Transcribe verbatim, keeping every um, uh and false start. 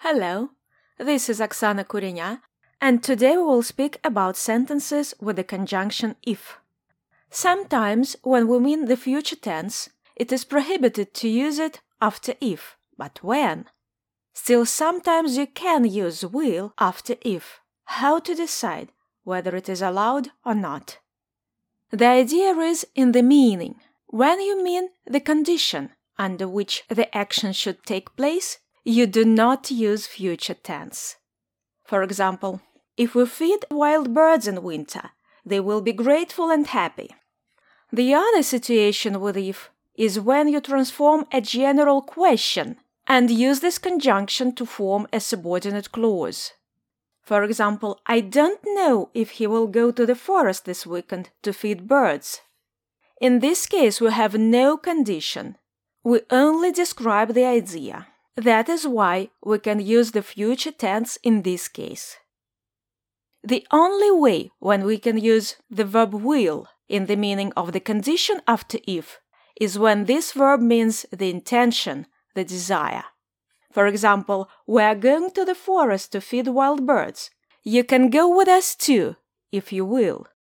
Hello, this is Oksana Kurenya, and today we will speak about sentences with the conjunction if. Sometimes, when we mean the future tense, it is prohibited to use it after if, but when? Still, sometimes you can use will after if. How to decide whether it is allowed or not? The idea is in the meaning. When you mean the condition under which the action should take place, you do not use future tense. For example, if we feed wild birds in winter, they will be grateful and happy. The other situation with if is when you transform a general question and use this conjunction to form a subordinate clause. For example, I don't know if he will go to the forest this weekend to feed birds. In this case, we have no condition. We only describe the idea. That is why we can use the future tense in this case. The only way when we can use the verb will in the meaning of the condition after if is when this verb means the intention, the desire. For example, we are going to the forest to feed wild birds. You can go with us too, if you will.